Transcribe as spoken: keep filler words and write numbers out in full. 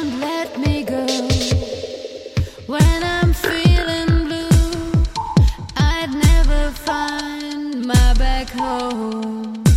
don't let me go. When I'm feeling blue, I'd never find my back home.